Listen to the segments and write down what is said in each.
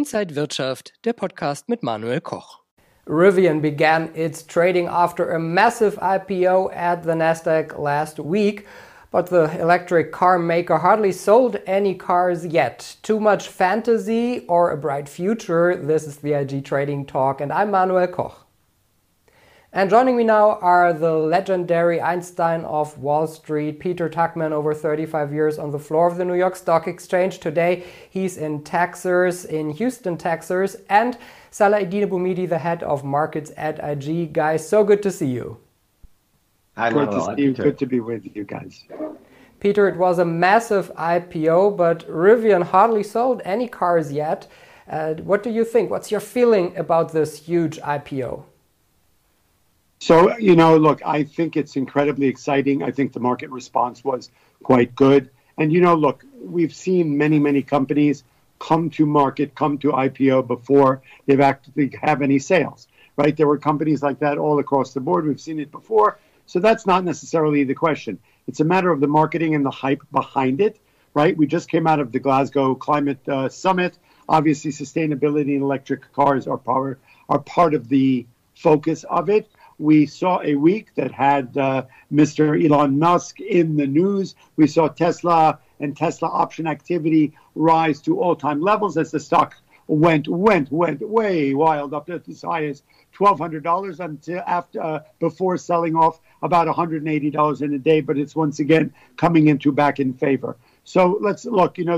Inside Wirtschaft, der Podcast mit Manuel Koch. Rivian began its trading after a massive IPO at the Nasdaq last week, but the electric car maker hardly sold any cars yet. Too much fantasy or a bright future? This is the IG Trading Talk, and I'm Manuel Koch. And joining me now are the legendary Einstein of Wall Street, Peter Tuchman, over 35 years on the floor of the New York Stock Exchange. Today he's in Texas, in Houston, Texas, and Salah-Eddine Bouhmidi, the head of markets at IG. Guys, so good to see you. Hi, good to see you. Good to be with you guys. Peter, it was a massive IPO, but Rivian hardly sold any cars yet. What do you think? What's your feeling about this huge IPO? So, look, I think it's incredibly exciting. I think the market response was quite good. And, look, we've seen many companies come to market, come to IPO before they've actually have any sales, right? There were companies like that all across the board. We've seen it before. So that's not necessarily the question. It's a matter of the marketing and the hype behind it, right? We just came out of the Glasgow Climate Summit. Obviously, sustainability and electric cars are part of the focus of it. We saw a week that had Mr. Elon Musk in the news. We saw Tesla and Tesla option activity rise to all-time levels as the stock went way wild, up to as high as $1,200 until before selling off about $180 in a day. But it's once again coming back in favor. So let's look. The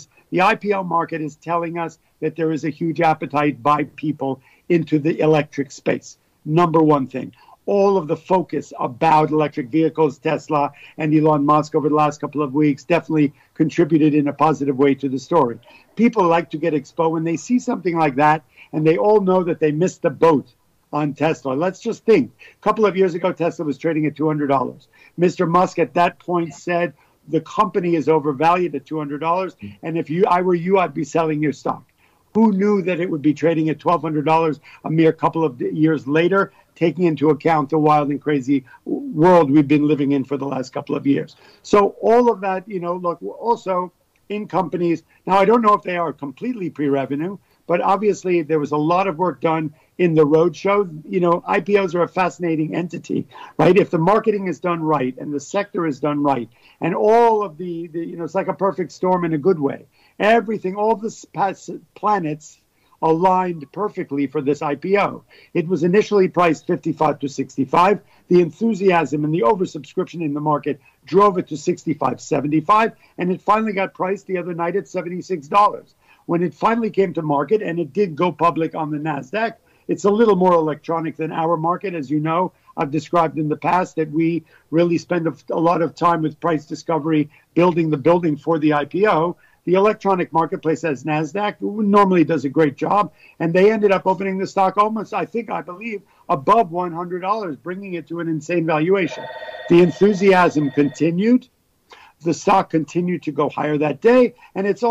IPO market is telling us that there is a huge appetite by people into the electric space. Number one thing, all of the focus about electric vehicles, Tesla and Elon Musk over the last couple of weeks definitely contributed in a positive way to the story. People like to get exposed when they see something like that, and they all know that they missed the boat on Tesla. Let's just think. A couple of years ago, Tesla was trading at $200. Mr. Musk at that point said the company is overvalued at $200, and if I were you, I'd be selling your stock. Who knew that it would be trading at $1,200 a mere couple of years later, taking into account the wild and crazy world we've been living in for the last couple of years? So all of that, look, also in companies. Now, I don't know if they are completely pre-revenue, but obviously there was a lot of work done in the roadshow. IPOs are a fascinating entity, right? If the marketing is done right and the sector is done right, and all of the it's like a perfect storm in a good way. Everything, all the planets aligned perfectly for this IPO. It was initially priced 55 to 65. The enthusiasm and the oversubscription in the market drove it to 65, 75, and it finally got priced the other night at $76. When it finally came to market, and it did go public on the Nasdaq, it's a little more electronic than our market. As you know, I've described in the past that we really spend a lot of time with price discovery, building the building for the IPO. The electronic marketplace, as Nasdaq, normally does a great job, and they ended up opening the stock almost, I believe, above $100, bringing it to an insane valuation. The enthusiasm continued. The stock continued to go higher that day, and the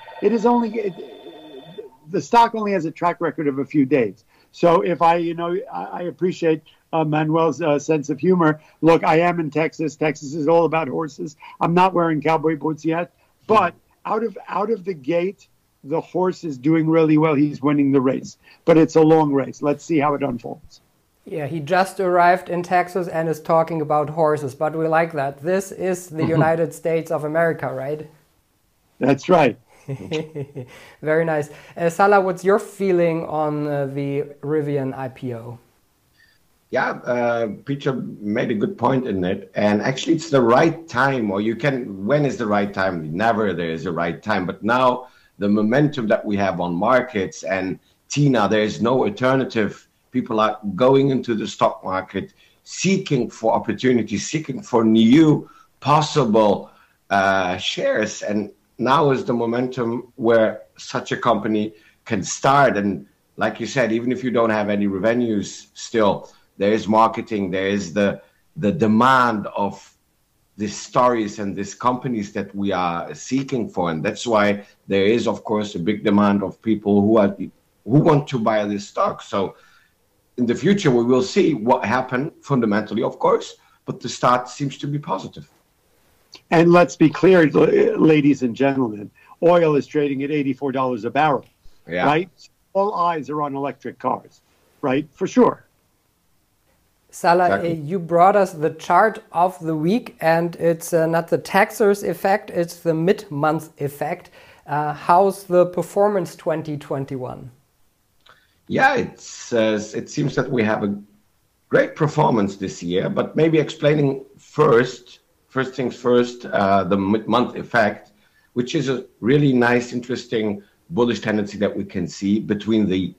stock only has a track record of a few days. So if I appreciate Manuel's sense of humor. Look, I am in Texas. Texas is all about horses. I'm not wearing cowboy boots yet, but out of the gate, the horse is doing really well. He's winning the race, but it's a long race. Let's see how it unfolds. Yeah, he just arrived in Texas and is talking about horses, but we like that. This is the United States of America, right? That's right. Very nice. Salah, what's your feeling on the Rivian IPO? Yeah, Peter made a good point in it. And actually, it's the right time, when is the right time? Never there is a right time. But now the momentum that we have on markets, and Tina, there is no alternative. People are going into the stock market, seeking for opportunities, seeking for new possible shares. And now is the momentum where such a company can start. And like you said, even if you don't have any revenues still, there is marketing, there is the demand of these stories and these companies that we are seeking for. And that's why there is, of course, a big demand of people who want to buy this stock. So in the future, we will see what happened fundamentally, of course, but the start seems to be positive. And let's be clear, ladies and gentlemen, oil is trading at $84 a barrel. right? All eyes are on electric cars, right? For sure. Salah, Exactly. you brought us the chart of the week, and it's not the taxers effect, it's the mid-month effect. How's the performance 2021? Yeah, it seems that we have a great performance this year, but maybe explaining first things first, the mid-month effect, which is a really nice, interesting bullish tendency that we can see between the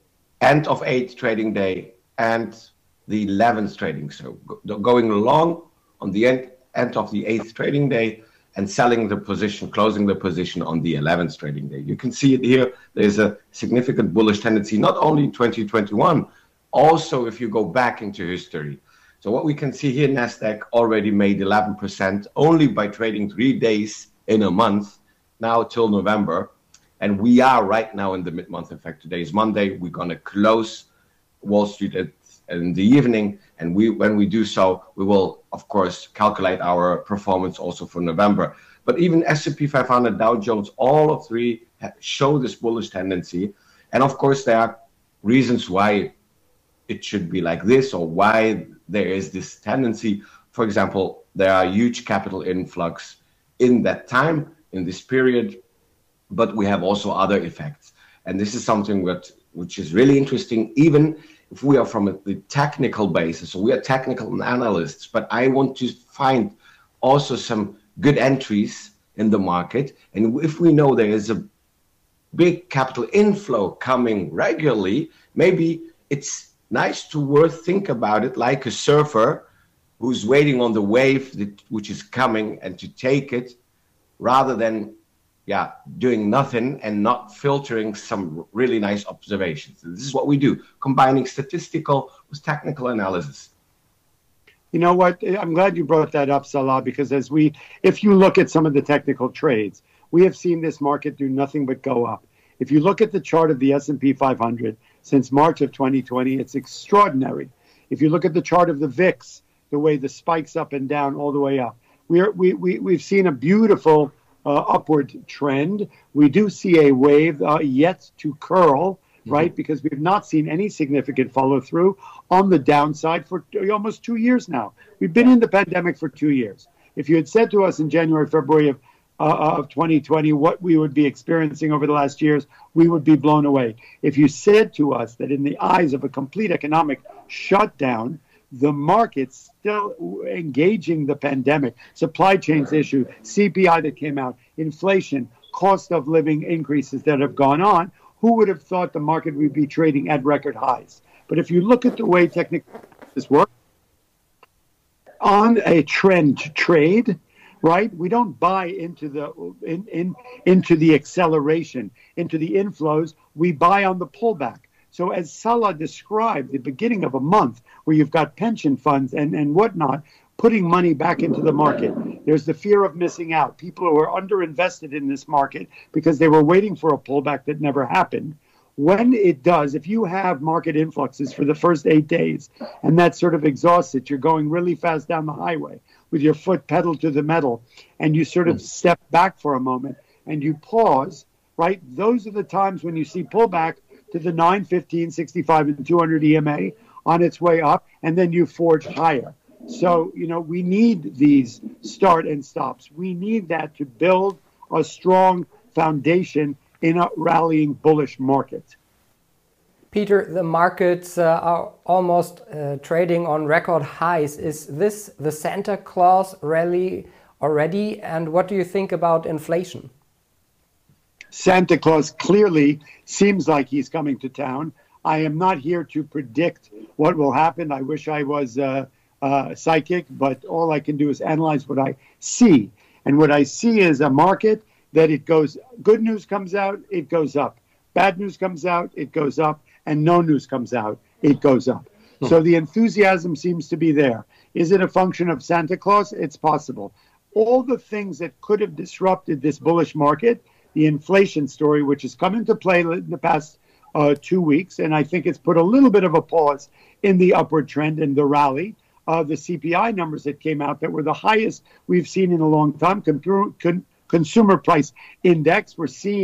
end of 8th trading day and the 11th trading. So going long on the end of the 8th trading day and selling the position, closing the position on the 11th trading day. You can see it here. There's a significant bullish tendency, not only in 2021, also if you go back into history. So what we can see here, NASDAQ already made 11% only by trading 3 days in a month, now till November. And we are right now in the mid-month effect. Today is Monday. We're going to close Wall Street in the evening. And when we do so, we will, of course, calculate our performance also for November. But even S&P 500, Dow Jones, all of three show this bullish tendency. And of course, there are reasons why it should be like this or why there is this tendency. For example, there are huge capital influx in that time, in this period, but we have also other effects. And this is something which is really interesting, even if we are from the technical basis. So we are technical analysts, but I want to find also some good entries in the market. And if we know there is a big capital inflow coming regularly, maybe it's nice to think about it like a surfer who's waiting on the wave which is coming and to take it, rather than doing nothing and not filtering some really nice observations. And this is what we do, combining statistical with technical analysis. You know what? I'm glad you brought that up, Salah, because if you look at some of the technical trades, we have seen this market do nothing but go up. If you look at the chart of the S&P 500 since March of 2020, it's extraordinary. If you look at the chart of the VIX, the way the spikes up and down all the way up, we've seen a beautiful upward trend. We do see a wave yet to curl, right? Because we've not seen any significant follow through on the downside for almost 2 years now. We've been in the pandemic for 2 years. If you had said to us in January, February of 2020 what we would be experiencing over the last years, we would be blown away. If you said to us that in the eyes of a complete economic shutdown, the market's still engaging the pandemic, supply chains issue, CPI that came out, inflation, cost of living increases that have gone on, who would have thought the market would be trading at record highs? But if you look at the way technical this works, on a trend trade, right? We don't buy into the acceleration, into the inflows. We buy on the pullback. So as Salah described, the beginning of a month where you've got pension funds and whatnot putting money back into the market, there's the fear of missing out. People who are underinvested in this market because they were waiting for a pullback that never happened. When it does, if you have market influxes for the first 8 days and that sort of exhausts it, you're going really fast down the highway with your foot pedal to the metal and you sort of step back for a moment and you pause, right? Those are the times when you see pullback to the 9, 15, 65, and 200 EMA on its way up, and then you forge higher. So, we need these start and stops. We need that to build a strong foundation in a rallying bullish market. Peter, the markets are almost trading on record highs. Is this the Santa Claus rally already? And what do you think about inflation? Santa Claus clearly seems like he's coming to town. I am not here to predict what will happen. I wish I was psychic, but all I can do is analyze what I see. And what I see is a market that it goes, good news comes out, it goes up. Bad news comes out, it goes up. And no news comes out, it goes up. So the enthusiasm seems to be there. Is it a function of Santa Claus? It's possible. All the things that could have disrupted this bullish market, the inflation story, which has come into play in the past 2 weeks, and I think it's put a little bit of a pause in the upward trend and the rally. The CPI numbers that came out that were the highest we've seen in a long time, consumer price index, we're seeing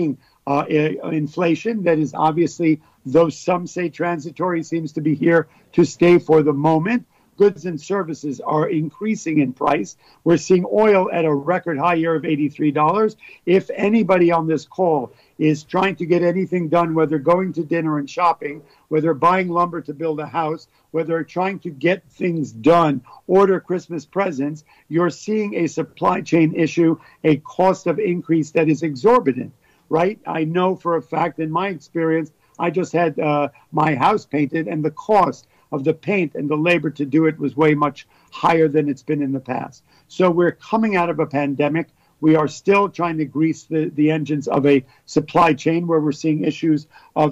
inflation that is obviously, though some say transitory, seems to be here to stay for the moment. Goods and services are increasing in price. We're seeing oil at a record high year of $83. If anybody on this call is trying to get anything done, whether going to dinner and shopping, whether buying lumber to build a house, whether trying to get things done, order Christmas presents, you're seeing a supply chain issue, a cost of increase that is exorbitant, right? I know for a fact, in my experience, I just had my house painted, and the cost of the paint and the labor to do it was way much higher than it's been in the past. So we're coming out of a pandemic. We are still trying to grease the engines of a supply chain where we're seeing issues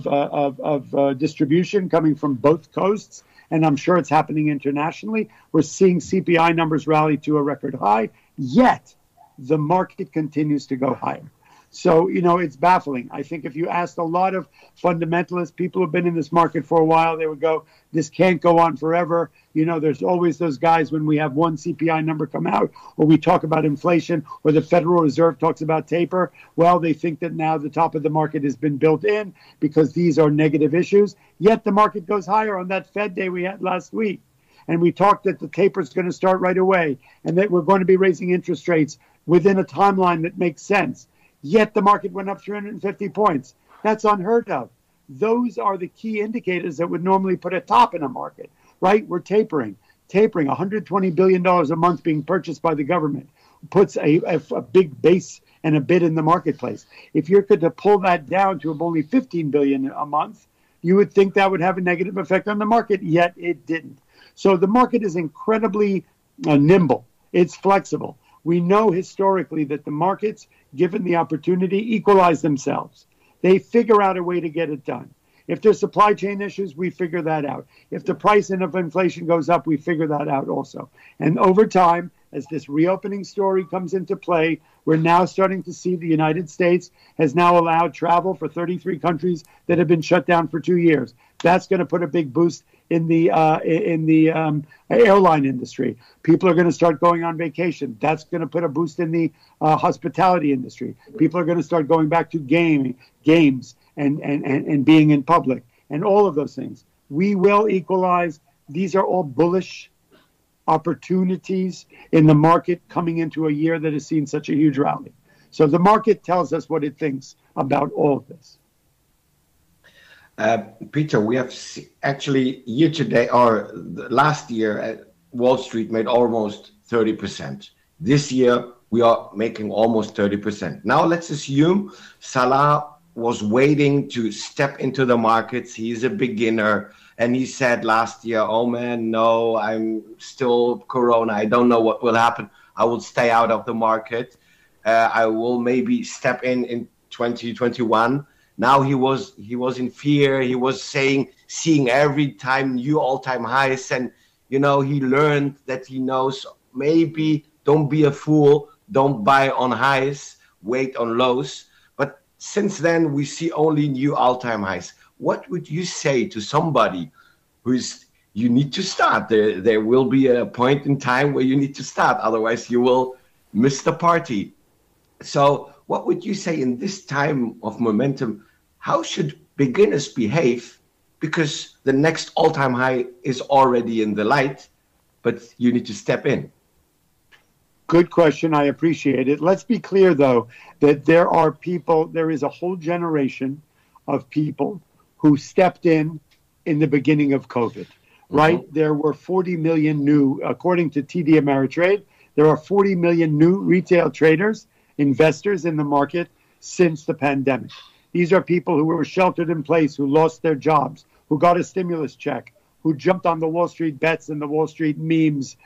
of distribution coming from both coasts. And I'm sure it's happening internationally. We're seeing CPI numbers rally to a record high, yet the market continues to go higher. So, it's baffling. I think if you asked a lot of fundamentalists, people who've been in this market for a while, they would go, this can't go on forever. There's always those guys when we have one CPI number come out, or we talk about inflation, or the Federal Reserve talks about taper. Well, they think that now the top of the market has been built in because these are negative issues. Yet the market goes higher on that Fed day we had last week. And we talked that the taper is going to start right away and that we're going to be raising interest rates within a timeline that makes sense. Yet the market went up 350 points. That's unheard of. Those are the key indicators that would normally put a top in a market, right? We're tapering $120 billion a month being purchased by the government puts a big base and a bid in the marketplace. If you're going to pull that down to only $15 billion a month, you would think that would have a negative effect on the market, yet it didn't. So the market is incredibly nimble. It's flexible. We know historically that the markets, given the opportunity, equalize themselves. They figure out a way to get it done. If there's supply chain issues, we figure that out. If the price of inflation goes up, we figure that out also. And over time, as this reopening story comes into play, we're now starting to see the United States has now allowed travel for 33 countries that have been shut down for 2 years. That's going to put a big boost in the airline industry. People are going to start going on vacation. That's going to put a boost in the hospitality industry. People are going to start going back to games and being in public and all of those things. We will equalize. These are all bullish opportunities in the market coming into a year that has seen such a huge rally. So the market tells us what it thinks about all of this. Peter, we have actually year to date, or last year, Wall Street made almost 30%. This year, we are making almost 30%. Now, let's assume Salah was waiting to step into the markets. He's a beginner. And he said last year, oh, man, no, I'm still Corona. I don't know what will happen. I will stay out of the market. I will maybe step in 2021. Now he was in fear. He was seeing every time new all-time highs. And, he learned that he knows maybe don't be a fool. Don't buy on highs, wait on lows. But since then, we see only new all-time highs. What would you say to somebody you need to start? There will be a point in time where you need to start. Otherwise, you will miss the party. So what would you say in this time of momentum? How should beginners behave? Because the next all-time high is already in the light, but you need to step in. Good question. I appreciate it. Let's be clear, though, that there is a whole generation of people who stepped in the beginning of COVID, right? Mm-hmm. There were 40 million new, according to TD Ameritrade, there are 40 million new retail traders, investors in the market since the pandemic. These are people who were sheltered in place, who lost their jobs, who got a stimulus check, who jumped on the Wall Street bets and the Wall Street memes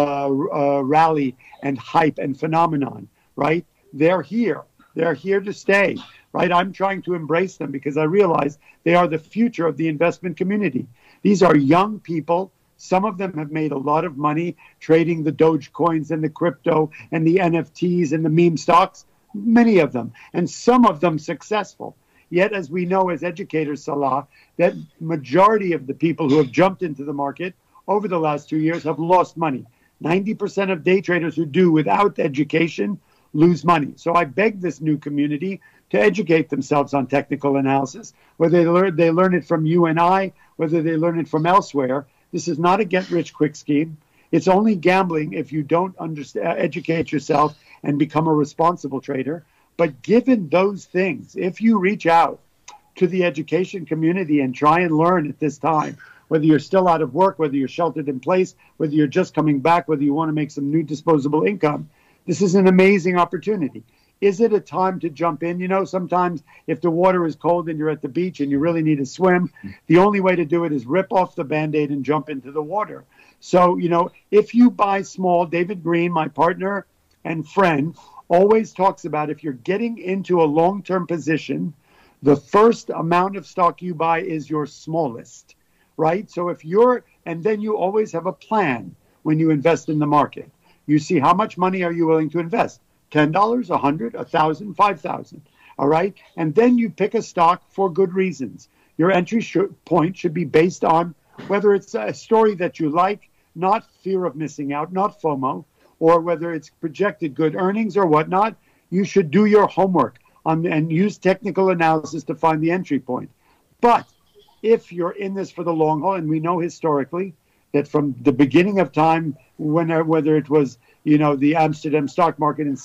rally and hype and phenomenon, right? They're here. They're here to stay, right? I'm trying to embrace them because I realize they are the future of the investment community. These are young people. Some of them have made a lot of money trading the Doge coins and the crypto and the NFTs and the meme stocks, many of them, and some of them successful. Yet, as we know as educators, Salah, that majority of the people who have jumped into the market over the last 2 years have lost money. 90% of day traders who do without education lose money. So I beg this new community to educate themselves on technical analysis, whether they learn it from you and I, whether they learn it from elsewhere. This is not a get-rich-quick scheme. It's only gambling if you don't educate yourself and become a responsible trader. But given those things, if you reach out to the education community and try and learn at this time, whether you're still out of work, whether you're sheltered in place, whether you're just coming back, whether you want to make some new disposable income, this is an amazing opportunity. Is it a time to jump in? You know, sometimes if the water is cold and you're at the beach and you really need to swim, the only way to do it is rip off the Band-Aid and jump into the water. So, you know, if you buy small, David Green, my partner and friend, always talks about if you're getting into a long-term position, the first amount of stock you buy is your smallest, right? So and then you always have a plan when you invest in the market. You see how much money are you willing to invest? $10, $100, $1,000, $5,000, all right? And then you pick a stock for good reasons. Your entry point should be based on whether it's a story that you like, not fear of missing out, not FOMO, or whether it's projected good earnings or whatnot. You should do your homework and use technical analysis to find the entry point. But if you're in this for the long haul, and we know historically that from the beginning of time, whether it was, you know, the Amsterdam stock market in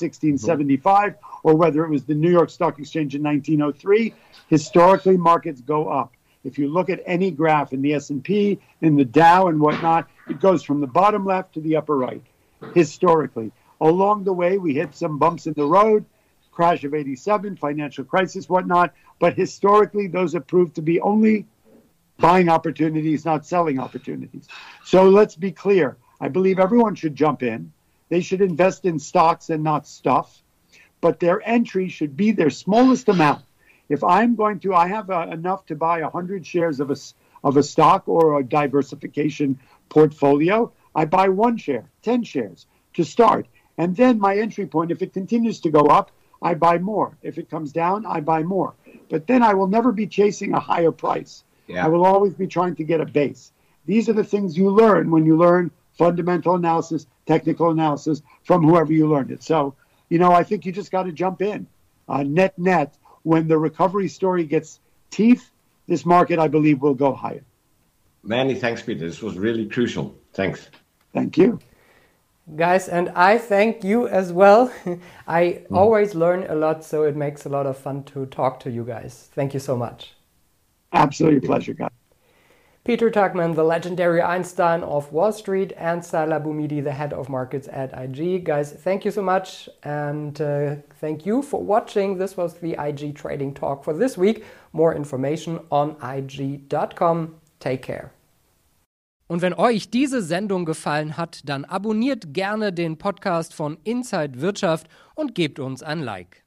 1675 or whether it was the New York Stock Exchange in 1903, historically markets go up. If you look at any graph in the S&P, in the Dow and whatnot, it goes from the bottom left to the upper right, historically. Along the way, we hit some bumps in the road, crash of 87, financial crisis, whatnot, but historically, those have proved to be only buying opportunities, not selling opportunities. So let's be clear. I believe everyone should jump in. They should invest in stocks and not stuff, but their entry should be their smallest amount. If I'm going to, I have enough to buy 100 shares of a stock or a diversification portfolio, I buy 1 share, 10 shares to start. And then my entry point, if it continues to go up, I buy more. If it comes down, I buy more. But then I will never be chasing a higher price. Yeah. I will always be trying to get a base. These are the things you learn when you learn fundamental analysis, technical analysis from whoever you learned it. So, you know, I think you just got to jump in. Net, when the recovery story gets teeth, this market, I believe, will go higher. Many thanks, Peter. This was really crucial. Thanks. Thank you. Guys, and I thank you as well. I always learn a lot, so it makes a lot of fun to talk to you guys. Thank you so much. Absolutely a pleasure, guys. Peter Tuchman, the legendary Einstein of Wall Street, and Salah Boumidi, the head of markets at IG. Guys, thank you so much, and thank you for watching. This was the IG Trading Talk for this week. More information on IG.com. Take care. Und wenn euch diese Sendung gefallen hat, dann abonniert gerne den Podcast von Inside Wirtschaft und gebt uns ein Like.